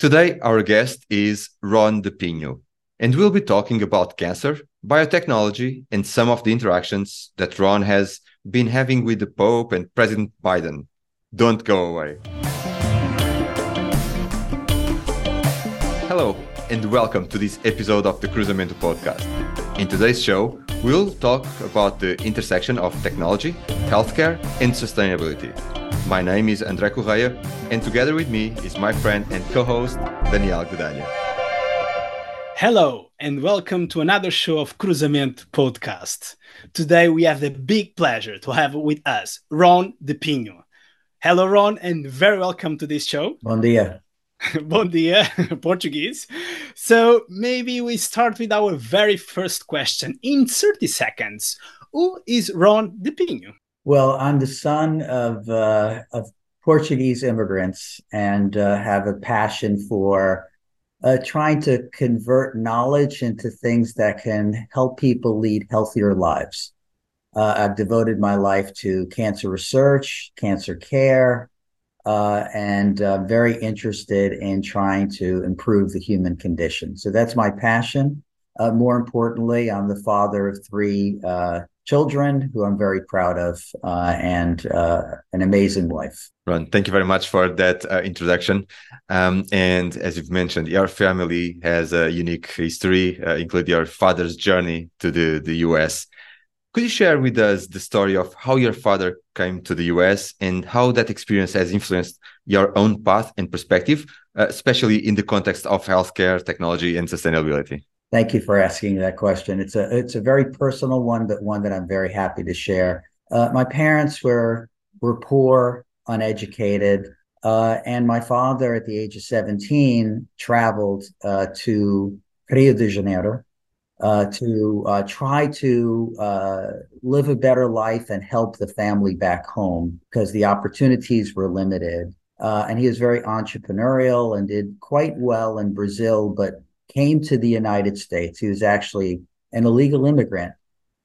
Today, our guest is Ron DePinho, and we'll be talking about cancer, biotechnology, and some of the interactions that Ron has been having with the Pope and President Biden. Don't go away. Hello, and welcome to this episode of the Cruzamento podcast. In today's show, we'll talk about the intersection of technology, healthcare, and sustainability. My name is André Correia, and together with me is my friend and co-host, Daniel Gudanha. Hello, and welcome to another show of Cruzamento podcast. Today, we have the big pleasure to have with us Ron DePinho. Hello, Ron, and very welcome to this show. Bom dia. Bom dia, Portuguese. So maybe we start with our very first question. In 30 seconds, who is Ron DePinho? Well, I'm the son of Portuguese immigrants and have a passion for trying to convert knowledge into things that can help people lead healthier lives. I've devoted my life to cancer research, cancer care, and very interested in trying to improve the human condition. So that's my passion. More importantly, I'm the father of three children who I'm very proud of, and an amazing wife. Ron, thank you very much for that introduction. And as you've mentioned, your family has a unique history, including your father's journey to the US. Could you share with us the story of how your father came to the US and how that experience has influenced your own path and perspective, especially in the context of healthcare, technology, and sustainability? Thank you for asking that question. It's a very personal one, but one that I'm very happy to share. My parents were poor, uneducated, and my father, at the age of 17, traveled to Rio de Janeiro to try to live a better life and help the family back home because the opportunities were limited. And he was very entrepreneurial and did quite well in Brazil, but came to the United States. He was actually an illegal immigrant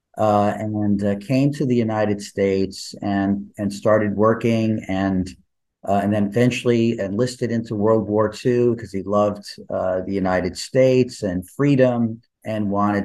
and came to the United States and started working and then eventually enlisted into World War II because he loved the United States and freedom and wanted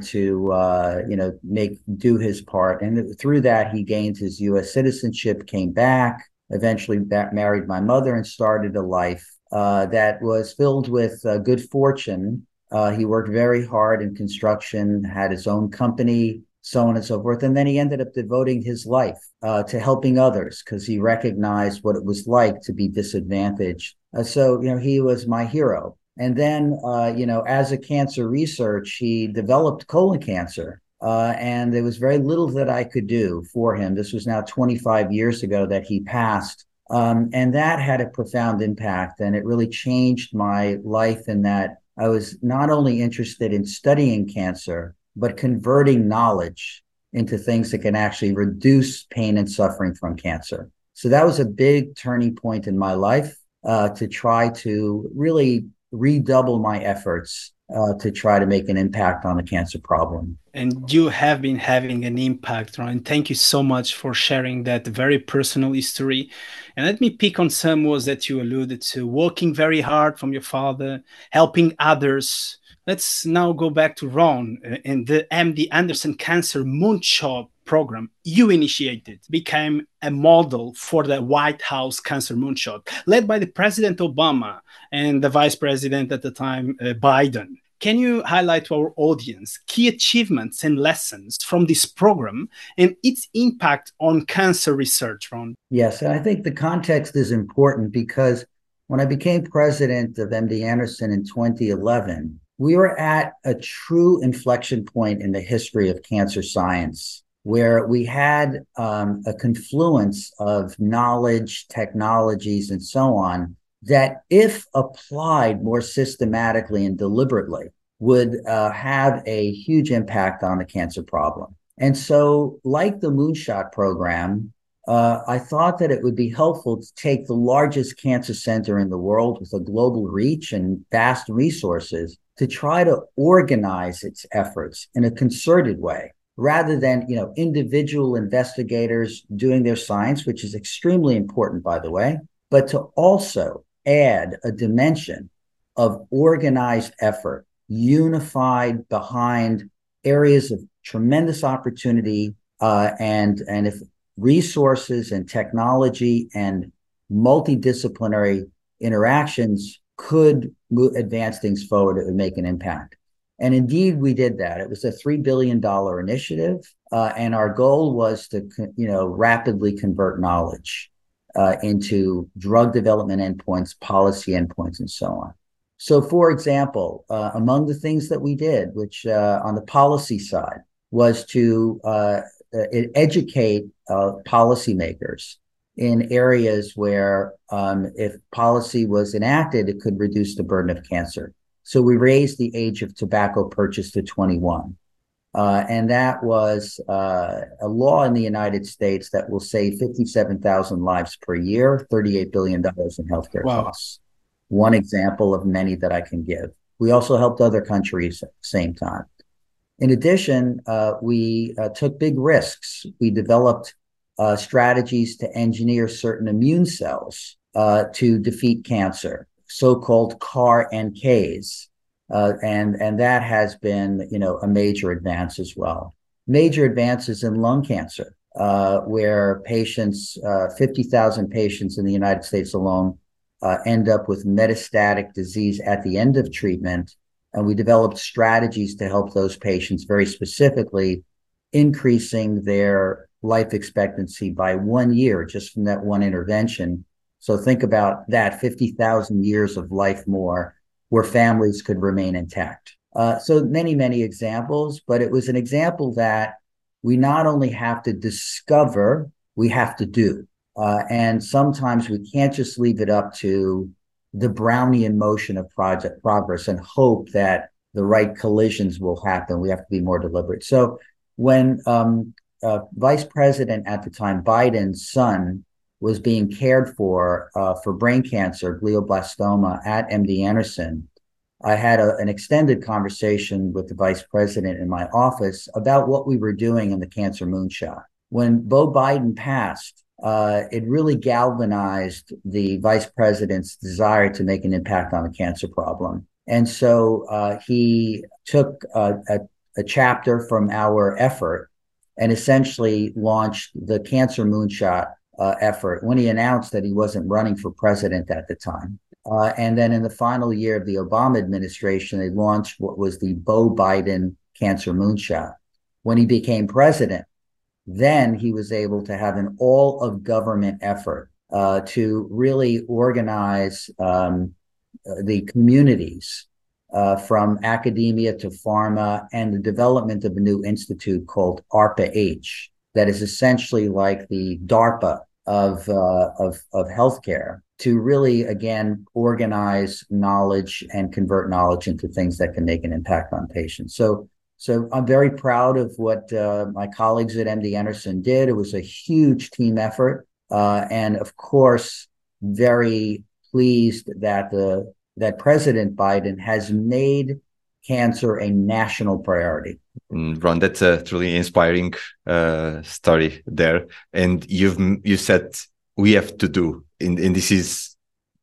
to do his part. And through that, he gained his U.S. citizenship, came back, eventually married my mother, and started a life that was filled with good fortune. He worked very hard in construction, had his own company, so on and so forth. And then he ended up devoting his life to helping others because he recognized what it was like to be disadvantaged. So he was my hero. And then, as a cancer researcher, he developed colon cancer. And there was very little that I could do for him. This was now 25 years ago that he passed. And that had a profound impact. And it really changed my life in that I was not only interested in studying cancer, but converting knowledge into things that can actually reduce pain and suffering from cancer. So that was a big turning point in my life to try to really redouble my efforts to try to make an impact on the cancer problem. And you have been having an impact, Ron. Thank you so much for sharing that very personal history. And let me pick on some words that you alluded to: working very hard from your father, helping others. Let's now go back to Ron and the MD Anderson Cancer Moonshot program you initiated became a model for the White House Cancer Moonshot, led by the President Obama and the Vice President at the time, Biden. Can you highlight to our audience key achievements and lessons from this program and its impact on cancer research, Ron? Yes, and I think the context is important because when I became president of MD Anderson in 2011, we were at a true inflection point in the history of cancer science, where we had a confluence of knowledge, technologies, and so on, that if applied more systematically and deliberately would have a huge impact on the cancer problem. And so, like the Moonshot program, I thought that it would be helpful to take the largest cancer center in the world with a global reach and vast resources to try to organize its efforts in a concerted way, rather than individual investigators doing their science, which is extremely important, by the way, but to also add a dimension of organized effort, unified behind areas of tremendous opportunity, and if resources and technology and multidisciplinary interactions could advance things forward, it would make an impact. And indeed, we did that. It was a $3 billion initiative, and our goal was to, rapidly convert knowledge into drug development endpoints, policy endpoints, and so on. So, for example, among the things that we did, which on the policy side, was to educate policymakers in areas where if policy was enacted, it could reduce the burden of cancer. So we raised the age of tobacco purchase to 21. And that was a law in the United States that will save 57,000 lives per year, $38 billion in healthcare costs. One example of many that I can give. We also helped other countries at the same time. In addition, we took big risks. We developed strategies to engineer certain immune cells to defeat cancer, so-called CAR-NKs. And that has been, a major advance as well. Major advances in lung cancer, where patients, 50,000 patients in the United States alone, end up with metastatic disease at the end of treatment. And we developed strategies to help those patients, very specifically increasing their life expectancy by 1 year just from that one intervention. So think about that, 50,000 years of life more where families could remain intact. So many, many examples, but it was an example that we not only have to discover, we have to do. And sometimes we can't just leave it up to the Brownian motion of project progress and hope that the right collisions will happen. We have to be more deliberate. So when Vice President at the time, Biden's son, was being cared for brain cancer, glioblastoma at MD Anderson, I had an extended conversation with the vice president in my office about what we were doing in the Cancer Moonshot. When Beau Biden passed, it really galvanized the vice president's desire to make an impact on the cancer problem. And so he took a chapter from our effort and essentially launched the Cancer Moonshot effort when he announced that he wasn't running for president at the time. And then in the final year of the Obama administration, they launched what was the Beau Biden Cancer Moonshot. When he became president, then he was able to have an all-of-government effort to really organize the communities from academia to pharma, and the development of a new institute called ARPA-H that is essentially like the DARPA of healthcare, to really, again, organize knowledge and convert knowledge into things that can make an impact on patients. So I'm very proud of what my colleagues at MD Anderson did. It was a huge team effort. And of course, very pleased that President Biden has made cancer a national priority. Ron, that's a truly inspiring story there. And you said we have to do, and this is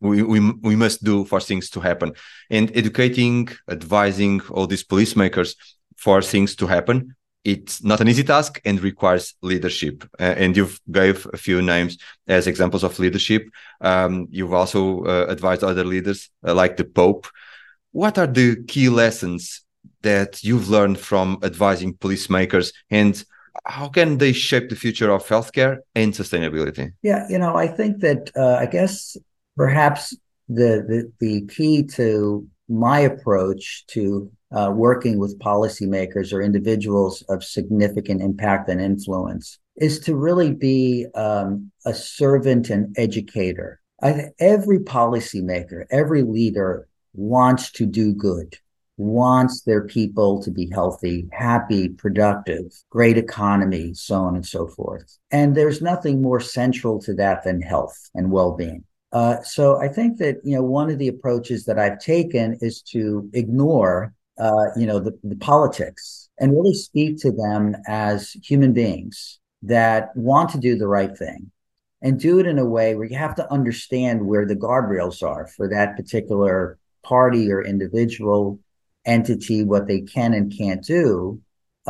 we must do for things to happen. And educating, advising all these policymakers for things to happen, it's not an easy task and requires leadership. And you've gave a few names as examples of leadership. You've also advised other leaders like the Pope. What are the key lessons that you've learned from advising policymakers, and how can they shape the future of healthcare and sustainability? Yeah, I think that I guess perhaps the key to my approach to working with policymakers or individuals of significant impact and influence is to really be a servant and educator. Every policymaker, every leader wants to do good, wants their people to be healthy, happy, productive, great economy, so on and so forth. And there's nothing more central to that than health and well-being. So I think that, one of the approaches that I've taken is to ignore, the politics and really speak to them as human beings that want to do the right thing, and do it in a way where you have to understand where the guardrails are for that particular party or individual entity what they can and can't do,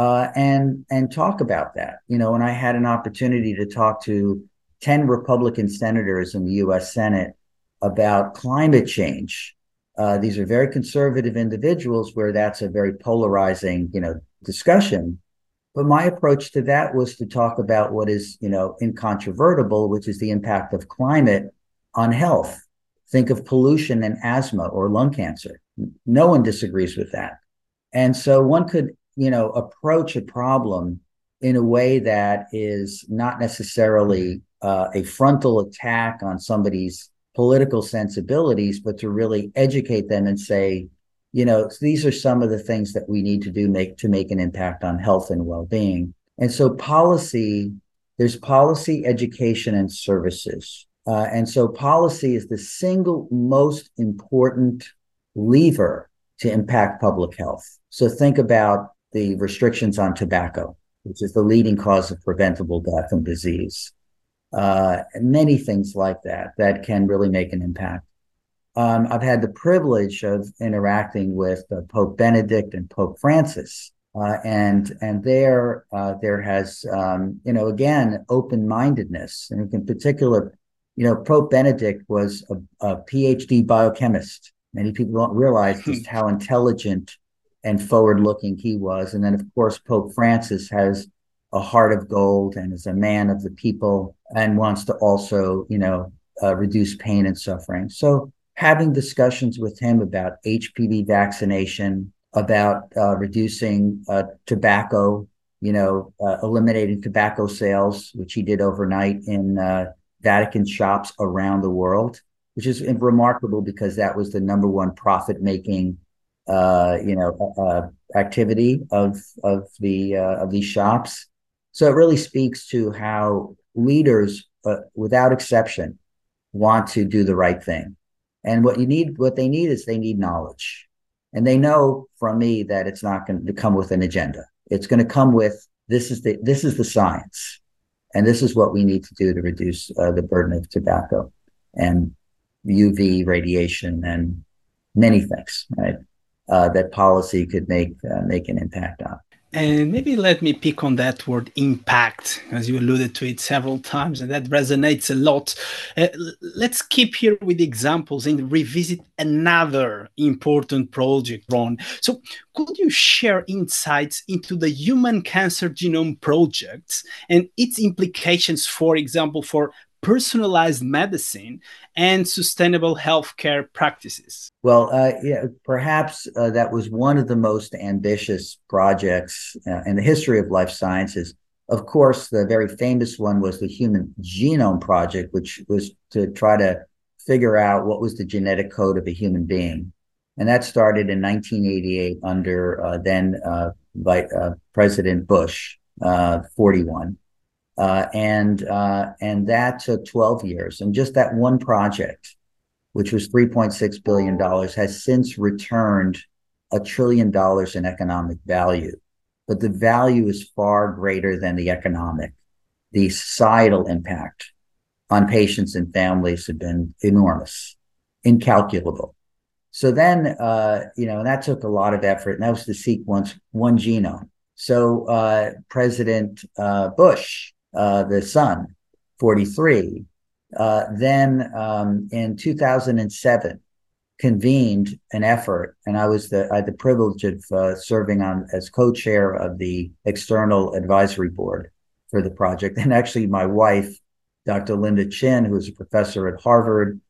and talk about that. And I had an opportunity to talk to 10 Republican senators in the U.S. Senate about climate change. These are very conservative individuals where that's a very polarizing, discussion. But my approach to that was to talk about what is, incontrovertible, which is the impact of climate on health. Think of pollution and asthma or lung cancer. No one disagrees with that. And so one could, approach a problem in a way that is not necessarily a frontal attack on somebody's political sensibilities, but to really educate them and say, these are some of the things that we need to do to make an impact on health and well-being. And so there's policy, education, and services. And so policy is the single most important lever to impact public health. So think about the restrictions on tobacco, which is the leading cause of preventable death and disease. Many things like that can really make an impact. I've had the privilege of interacting with Pope Benedict and Pope Francis, and there has again open-mindedness, and in particular, Pope Benedict was a PhD biochemist. Many people don't realize just how intelligent and forward-looking he was. And then, of course, Pope Francis has a heart of gold and is a man of the people and wants to also, reduce pain and suffering. So having discussions with him about HPV vaccination, about reducing tobacco, eliminating tobacco sales, which he did overnight in Vatican shops around the world, which is remarkable because that was the number one profit-making activity of these shops. So it really speaks to how leaders, without exception, want to do the right thing. And what they need is knowledge. And they know from me that it's not going to come with an agenda. It's going to come with, this is the science. And this is what we need to do to reduce the burden of tobacco and UV radiation and many things, right? That policy could make an impact on. And maybe let me pick on that word impact, as you alluded to it several times, and that resonates a lot. Let's keep here with examples and revisit another important project, Ron. So could you share insights into the Human Cancer Genome Project and its implications, for example, for personalized medicine and sustainable healthcare practices? Well, perhaps that was one of the most ambitious projects in the history of life sciences. Of course, the very famous one was the Human Genome Project, which was to try to figure out what was the genetic code of a human being. And that started in 1988 under then President Bush, 41. And that took 12 years. And just that one project, which was $3.6 billion, has since returned $1 trillion in economic value. But the value is far greater than the economic. The societal impact on patients and families have been enormous, incalculable. So then, and that took a lot of effort, and that was to sequence one genome. So President Bush, the son, 43, then in 2007 convened an effort, and I had the privilege of serving as co-chair of the external advisory board for the project. And actually my wife, Dr. Linda Chin, who is a professor at Harvard,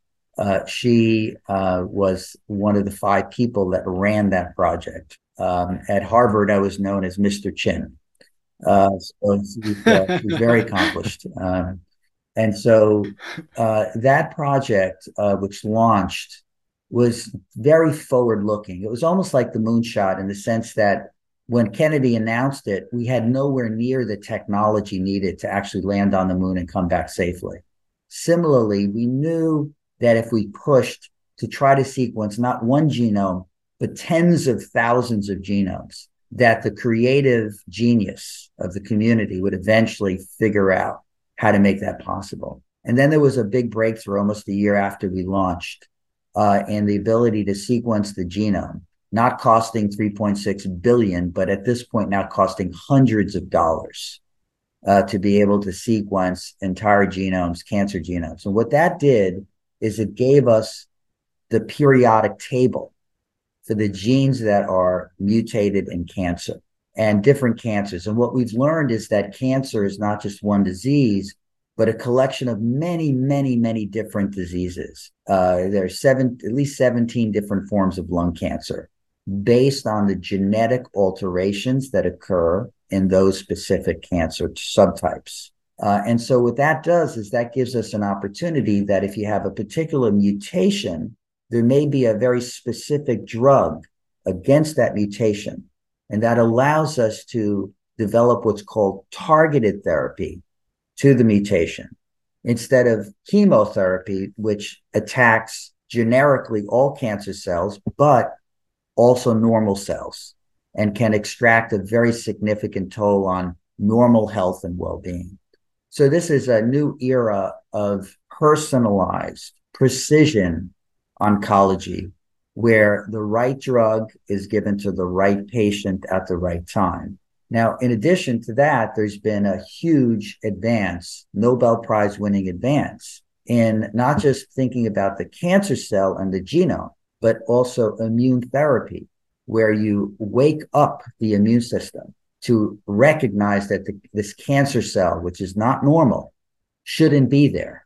she was one of the 5 people that ran that project. At Harvard, I was known as Mr. Chin. So she's very accomplished. And so that project, which launched, was very forward-looking. It was almost like the moonshot in the sense that when Kennedy announced it, we had nowhere near the technology needed to actually land on the moon and come back safely. Similarly, we knew that if we pushed to try to sequence not one genome, but tens of thousands of genomes, that the creative genius of the community would eventually figure out how to make that possible. And then there was a big breakthrough almost a year after we launched, and the ability to sequence the genome, not costing 3.6 billion, but at this point now costing hundreds of dollars to be able to sequence entire genomes, cancer genomes. And what that did is it gave us the periodic table for the genes that are mutated in cancer and different cancers. And what we've learned is that cancer is not just one disease, but a collection of many, many, many different diseases. There's at least 17 different forms of lung cancer based on the genetic alterations that occur in those specific cancer subtypes. And so what that does is that gives us an opportunity that if you have a particular mutation, there may be a very specific drug against that mutation. And that allows us to develop what's called targeted therapy to the mutation instead of chemotherapy, which attacks generically all cancer cells, but also normal cells and can extract a very significant toll on normal health and well-being. So this is a new era of personalized precision oncology, where the right drug is given to the right patient at the right time. Now, in addition to that, there's been a huge advance, Nobel Prize winning advance, in not just thinking about the cancer cell and the genome, but also immune therapy, where you wake up the immune system to recognize that this cancer cell, which is not normal, shouldn't be there.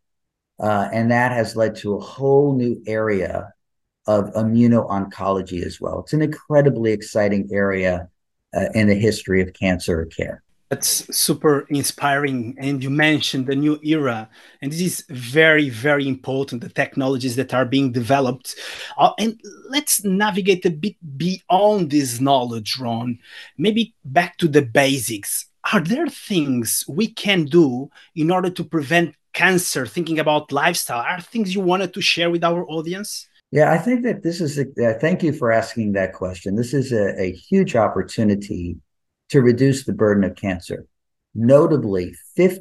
And that has led to a whole new area of immuno-oncology as well. It's an incredibly exciting area in the history of cancer care. That's super inspiring. And you mentioned the new era. And this is very, very important, the technologies that are being developed. And let's navigate a bit beyond this knowledge, Ron. Maybe back to the basics. Are there things we can do in order to prevent cancer, thinking about lifestyle? Are things you wanted to share with our audience? Yeah, I think that this is, thank you for asking that question. This is a huge opportunity to reduce the burden of cancer. Notably,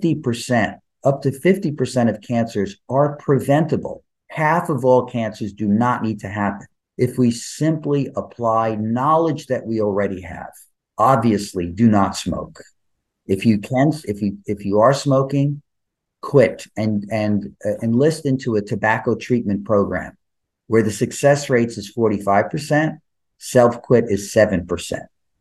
50%, up to 50% of cancers are preventable. Half of all cancers do not need to happen if we simply apply knowledge that we already have. Obviously, do not smoke. If you are smoking, quit and enlist into a tobacco treatment program where the success rates is 45%, self-quit is 7%.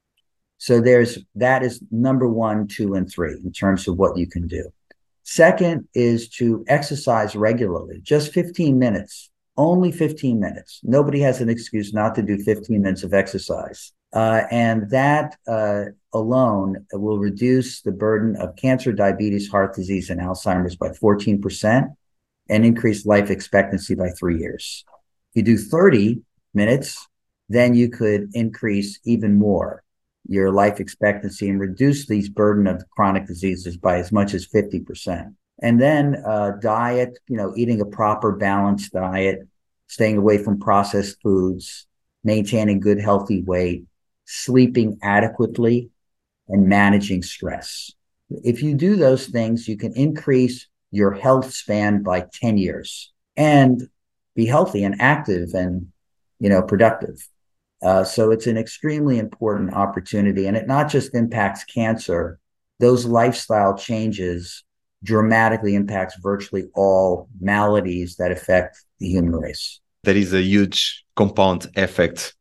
So that is number 1, 2, and 3 in terms of what you can do. Second is to exercise regularly, just 15 minutes, only 15 minutes. Nobody has an excuse not to do 15 minutes of exercise. And that alone will reduce the burden of cancer, diabetes, heart disease, and Alzheimer's by 14% and increase life expectancy by 3 years. If you do 30 minutes, then you could increase even more your life expectancy and reduce these burden of chronic diseases by as much as 50%. And then diet, eating a proper balanced diet, staying away from processed foods, maintaining good healthy weight, sleeping adequately, and managing stress. If you do those things, you can increase your health span by 10 years and be healthy and active and, productive. So it's an extremely important opportunity, and it not just impacts cancer. Those lifestyle changes dramatically impacts virtually all maladies that affect the human race. There is a huge compound effect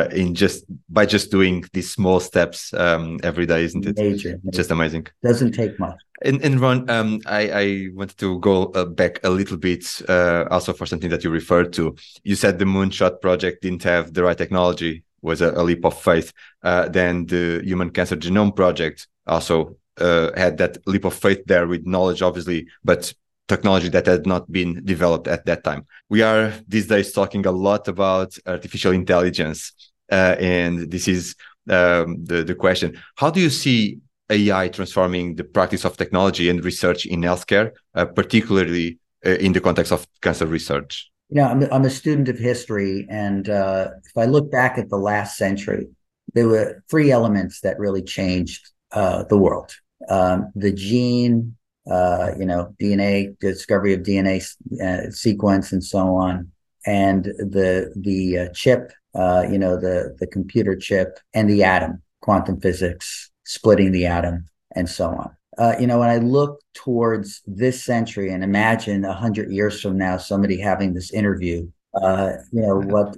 by just doing these small steps every day, isn't it? Major. Just amazing. Doesn't take much. And Ron, I wanted to go back a little bit also for something that you referred to. You said the Moonshot project didn't have the right technology, was a leap of faith. Then the Human Cancer Genome Project also had that leap of faith there with knowledge, obviously, but technology that had not been developed at that time. We are these days talking a lot about artificial intelligence. And this is the question. How do you see AI transforming the practice of technology and research in healthcare, particularly in the context of cancer research? I'm a student of history, and if I look back at the last century, there were 3 elements that really changed the world. The gene, DNA, discovery of DNA sequence, and so on, and the chip, the computer chip, and the atom, quantum physics, splitting the atom, and so on. When I look towards this century and imagine 100 years from now, somebody having this interview, what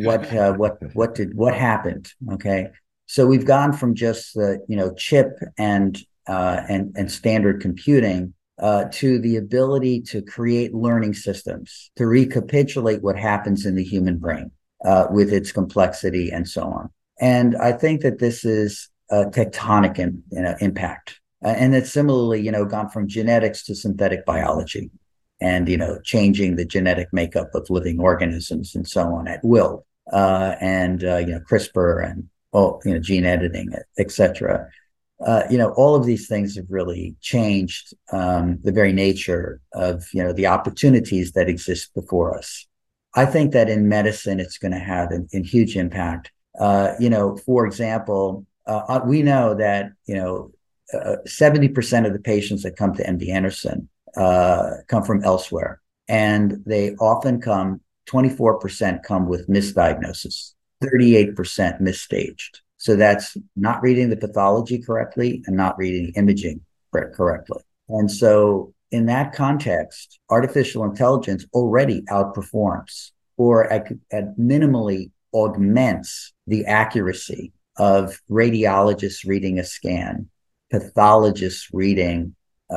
happened? Okay, so we've gone from just the chip and standard computing to the ability to create learning systems to recapitulate what happens in the human brain with its complexity and so on. And I think that this is a tectonic impact. And it's similarly, gone from genetics to synthetic biology and, changing the genetic makeup of living organisms and so on at will. And CRISPR and, gene editing, et cetera. All of these things have really changed the very nature of, the opportunities that exist before us. I think that in medicine, it's going to have a huge impact. For example, we know that, 70% of the patients that come to MD Anderson come from elsewhere. And they often 24% come with misdiagnosis, 38% misstaged. So that's not reading the pathology correctly and not reading imaging correctly. And so in that context, artificial intelligence already outperforms or at minimally augments the accuracy of radiologists reading a scan, pathologists reading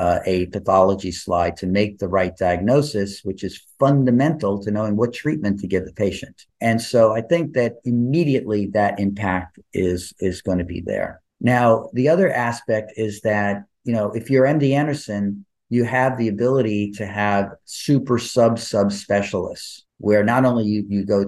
a pathology slide to make the right diagnosis, which is fundamental to knowing what treatment to give the patient. And so I think that immediately that impact is going to be there. Now, the other aspect is that, if you're MD Anderson, you have the ability to have super subspecialists where not only you go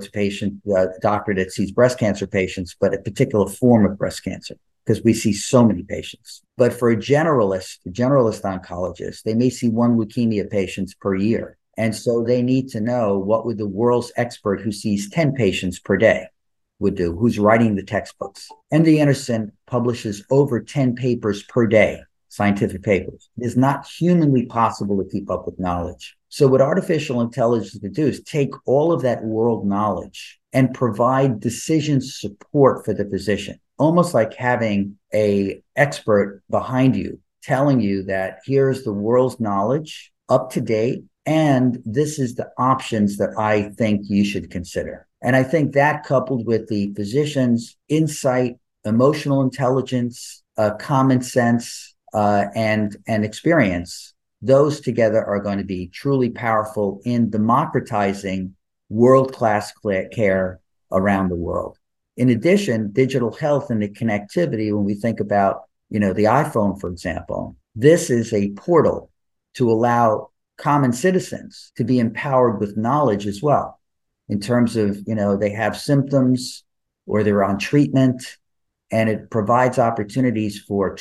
to doctor that sees breast cancer patients, but a particular form of breast cancer, because we see so many patients. But for a generalist oncologist, they may see one leukemia patients per year. And so they need to know what would the world's expert who sees 10 patients per day would do, who's writing the textbooks. MD Anderson publishes over 10 papers per day, scientific papers. It is not humanly possible to keep up with knowledge. So what artificial intelligence can do is take all of that world knowledge and provide decision support for the physician, almost like having an expert behind you telling you that here's the world's knowledge up to date, and this is the options that I think you should consider. And I think that, coupled with the physician's insight, emotional intelligence, common sense, and experience, those together are going to be truly powerful in democratizing world-class care around the world. In addition, digital health and the connectivity, when we think about, the iPhone, for example, this is a portal to allow common citizens to be empowered with knowledge as well, in terms of, they have symptoms or they're on treatment, and it provides opportunities for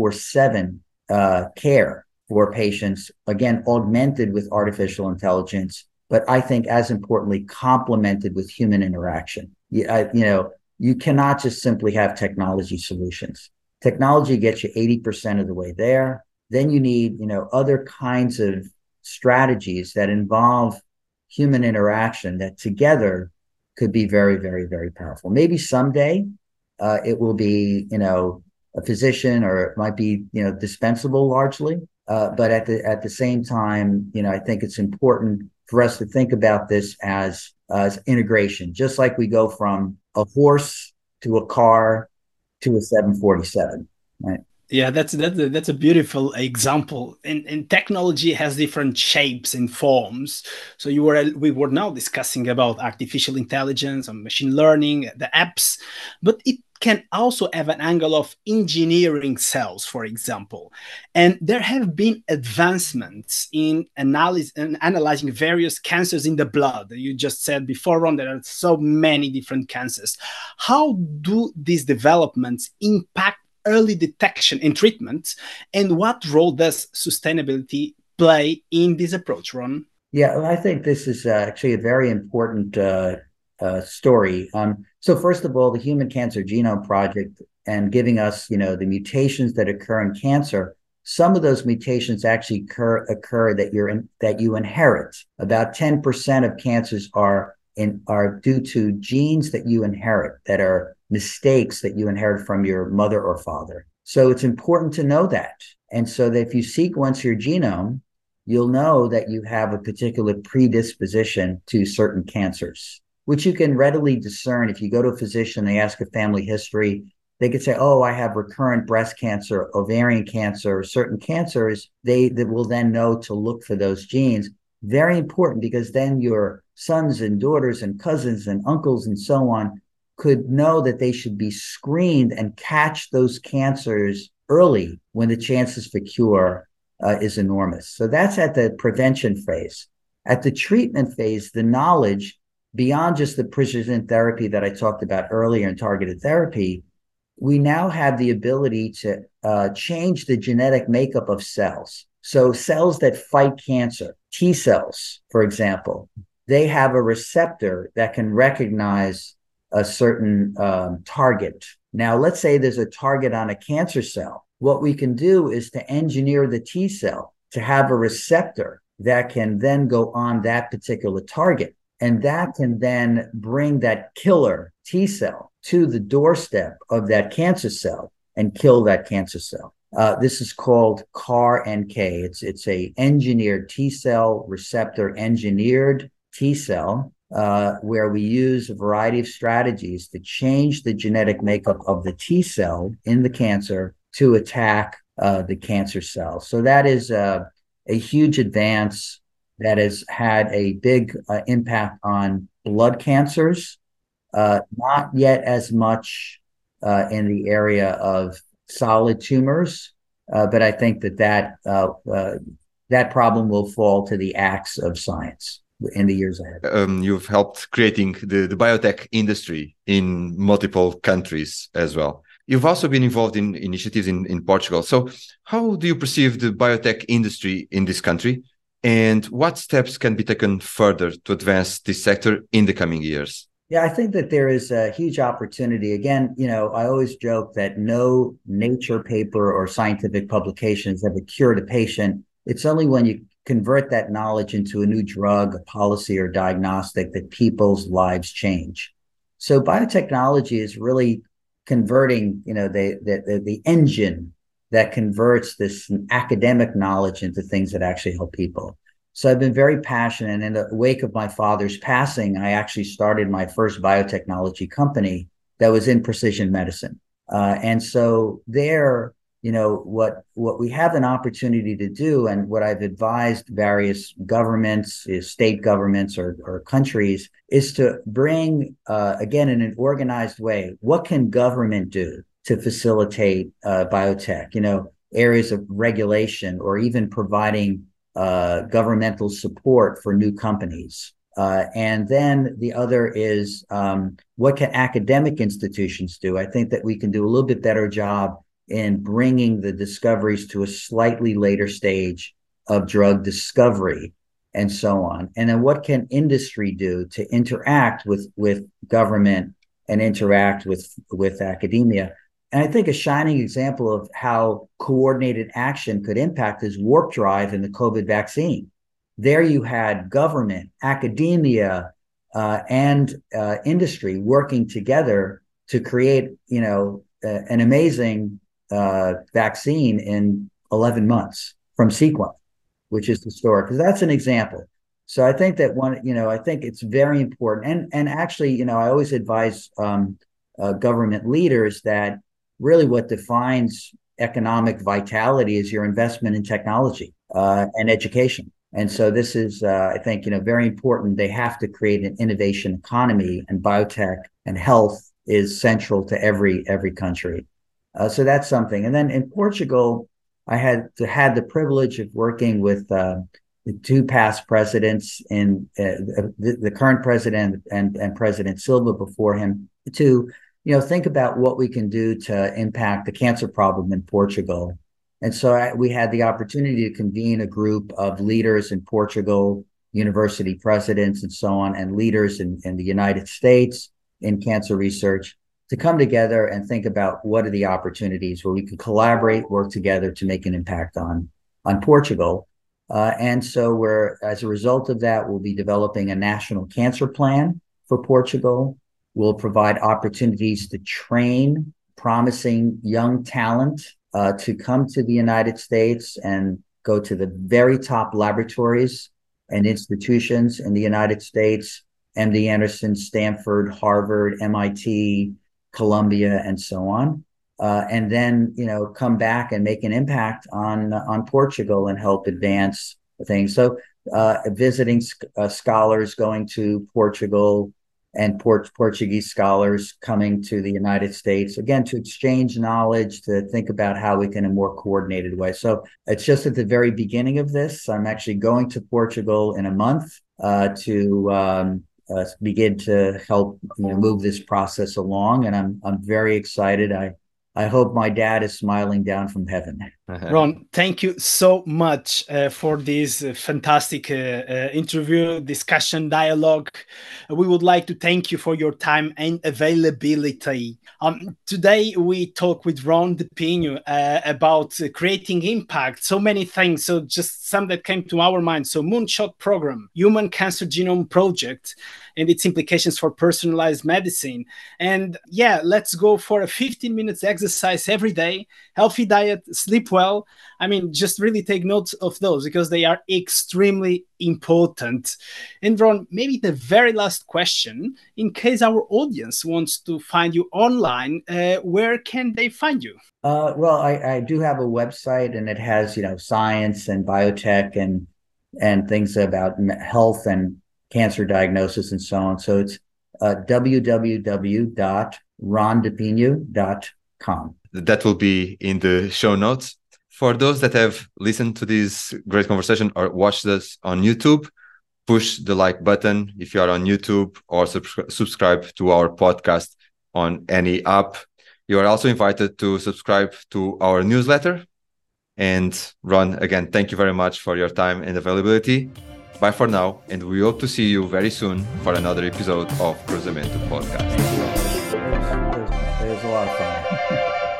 24/7 care for patients, again, augmented with artificial intelligence, but I think as importantly, complemented with human interaction. You cannot just simply have technology solutions. Technology gets you 80% of the way there. Then you need, other kinds of strategies that involve human interaction that together could be very, very, very powerful. Maybe someday it will be, a physician, or it might be, dispensable largely. But at the same time, I think it's important for us to think about this as integration, just like we go from a horse to a car to a 747, right? Yeah, that's a beautiful example. And technology has different shapes and forms. So we were now discussing about artificial intelligence and machine learning, the apps, but it can also have an angle of engineering cells, for example. And there have been advancements in analyzing various cancers in the blood. You just said before, Ron, there are so many different cancers. How do these developments impact early detection and treatment, and what role does sustainability play in this approach, Ron? Yeah, I think this is actually a very important story. So first of all, the Human Cancer Genome Project, and giving us, the mutations that occur in cancer. Some of those mutations actually occur that you inherit. About 10% of cancers are are due to genes that you inherit, that are mistakes that you inherit from your mother or father. So it's important to know that. And so that if you sequence your genome, you'll know that you have a particular predisposition to certain cancers, which you can readily discern. If you go to a physician, they ask a family history, they could say, oh, I have recurrent breast cancer, ovarian cancer, certain cancers. They will then know to look for those genes. Very important, because then your sons and daughters and cousins and uncles and so on could know that they should be screened and catch those cancers early when the chances for cure is enormous. So that's at the prevention phase. At the treatment phase, the knowledge beyond just the precision therapy that I talked about earlier in targeted therapy, we now have the ability to change the genetic makeup of cells. So cells that fight cancer, T cells, for example, they have a receptor that can recognize a certain target. Now, let's say there's a target on a cancer cell. What we can do is to engineer the T cell to have a receptor that can then go on that particular target. And that can then bring that killer T cell to the doorstep of that cancer cell and kill that cancer cell. This is called CAR-NK. It's a engineered T cell receptor, engineered T cell, where we use a variety of strategies to change the genetic makeup of the T cell in the cancer to attack the cancer cell. So that is a huge advance that has had a big impact on blood cancers, not yet as much in the area of solid tumors, but I think that problem will fall to the axe of science in the years ahead. You've helped creating the biotech industry in multiple countries as well. You've also been involved in initiatives in Portugal. So how do you perceive the biotech industry in this country? And what steps can be taken further to advance this sector in the coming years? Yeah, I think that there is a huge opportunity. Again, I always joke that no Nature paper or scientific publications have cured a patient. It's only when you convert that knowledge into a new drug, a policy, or diagnostic that people's lives change. So biotechnology is really converting, the engine that converts this academic knowledge into things that actually help people. So I've been very passionate. And in the wake of my father's passing, I actually started my first biotechnology company that was in precision medicine. And so there, what we have an opportunity to do, and what I've advised various governments, state governments or countries, is to bring, again, in an organized way, what can government do to facilitate biotech, areas of regulation, or even providing governmental support for new companies. And then the other is what can academic institutions do? I think that we can do a little bit better job in bringing the discoveries to a slightly later stage of drug discovery and so on. And then what can industry do to interact with government and interact with academia? And I think a shining example of how coordinated action could impact is Warp Drive in the COVID vaccine. There you had government, academia, and industry working together to create, an amazing vaccine in 11 months from sequence, which is historic. Because that's an example. So I think that I think it's very important. And actually, I always advise government leaders that really what defines economic vitality is your investment in technology and education. And so this is, I think, very important. They have to create an innovation economy, and biotech and health is central to every country. So that's something. And then in Portugal, I had the privilege of working with the two past presidents, in the current president and President Silva before him, to think about what we can do to impact the cancer problem in Portugal. And so we had the opportunity to convene a group of leaders in Portugal, university presidents and so on, and leaders in the United States in cancer research, to come together and think about what are the opportunities where we can collaborate, work together to make an impact on Portugal. And so as a result of that, we'll be developing a national cancer plan for Portugal. We'll provide opportunities to train promising young talent to come to the United States and go to the very top laboratories and institutions in the United States, MD Anderson, Stanford, Harvard, MIT, Columbia, and so on. And then, come back and make an impact on Portugal and help advance things. So visiting scholars going to Portugal and Portuguese scholars coming to the United States, again, to exchange knowledge, to think about how we can in a more coordinated way. So it's just at the very beginning of this. I'm actually going to Portugal in a month to begin to help move this process along. And I'm very excited. I hope my dad is smiling down from heaven. Ron, thank you so much for this fantastic interview, discussion, dialogue. We would like to thank you for your time and availability. Today, we talk with Ron De Pinho about creating impact, so many things. So just some that came to our mind. So Moonshot Program, Human Cancer Genome Project, and its implications for personalized medicine. And yeah, let's go for a 15 minutes exercise every day, healthy diet, sleep well. I mean, just really take notes of those because they are extremely important. And Ron, maybe the very last question, in case our audience wants to find you online, where can they find you? Well, I do have a website, and it has, science and biotech and things about health and cancer diagnosis and so on. So it's www.rondepinho.com. That will be in the show notes. For those that have listened to this great conversation or watched us on YouTube, push the like button if you are on YouTube, or subscribe to our podcast on any app. You are also invited to subscribe to our newsletter. And Ron, again, thank you very much for your time and availability. Bye for now, and we hope to see you very soon for another episode of Cruzamento Podcast. It was a lot of fun.